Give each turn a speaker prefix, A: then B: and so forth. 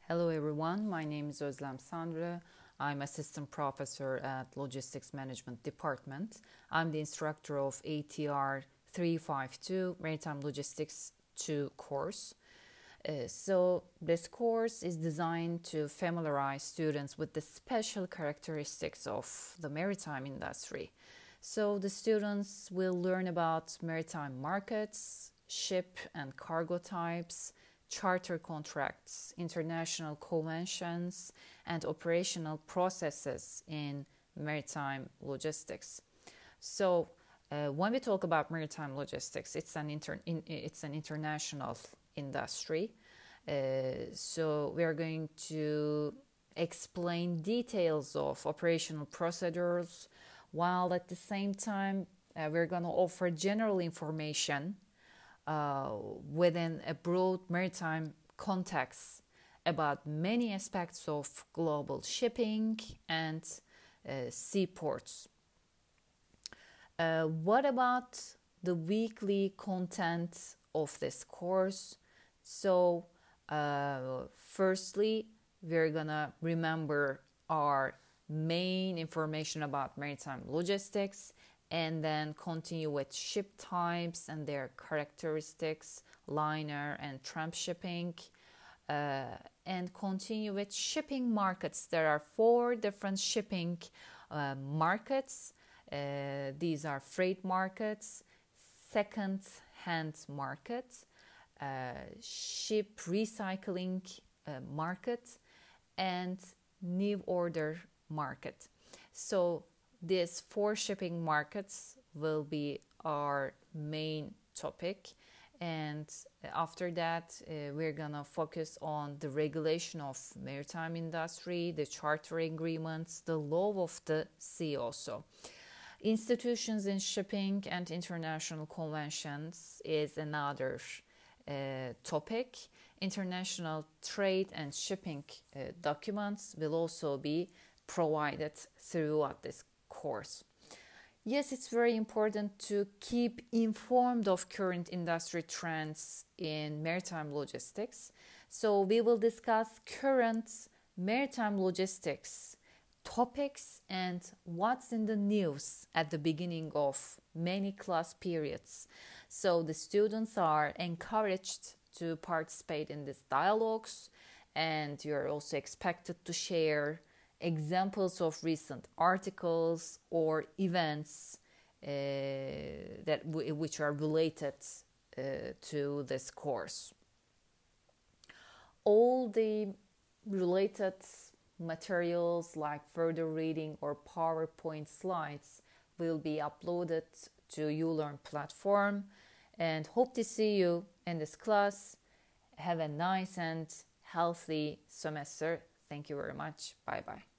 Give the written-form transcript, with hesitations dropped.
A: Hello everyone, my name is Özlem Sanrı. I'm assistant professor at Logistics Management Department. I'm the instructor of ATR 352 Maritime Logistics 2 course. So this course is designed to familiarize students with the special characteristics of the maritime industry. So the students will learn about maritime markets, ship and cargo types, charter contracts, international conventions, and operational processes in maritime logistics. So, when we talk about maritime logistics, it's an international industry. So, we are going to explain details of operational procedures, while at the same time, we're going to offer general information within a broad maritime context about many aspects of global shipping and seaports. What about the weekly content of this course? So, firstly, we're gonna remember our main information about maritime logistics and then continue with ship types and their characteristics, liner and tramp shipping, and continue with shipping markets. There are 4 different shipping markets. These are freight markets, second-hand market, ship recycling market, and new order market. So these 4 shipping markets will be our main topic, and after that we're gonna focus on the regulation of maritime industry, the charter agreements, the law of the sea, also institutions in shipping and international conventions is another topic. International trade and shipping documents will also be provided throughout this course. Yes, it's very important to keep informed of current industry trends in maritime logistics. So we will discuss current maritime logistics topics and what's in the news at the beginning of many class periods. So the students are encouraged to participate in these dialogues, and you're also expected to share examples of recent articles or events which are related to this course. All the related materials like further reading or PowerPoint slides will be uploaded to ULearn platform, and hope to see you in this class. Have a nice and healthy semester. Thank you very much. Bye bye.